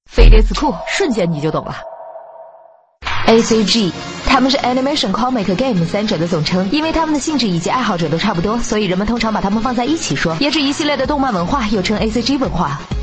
飞碟词库，瞬间你就懂了。ACG， 他们是 Animation、Comic、Game 三者的总称，因为他们的性质以及爱好者都差不多，所以人们通常把他们放在一起说，也是一系列的动漫文化，又称 ACG 文化。